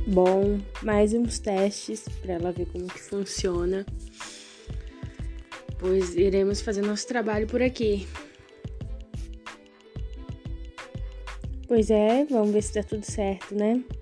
bom, mais uns testes para ela ver como que funciona, pois iremos fazer nosso trabalho por aqui. Pois é, vamos ver se dá tudo certo, né?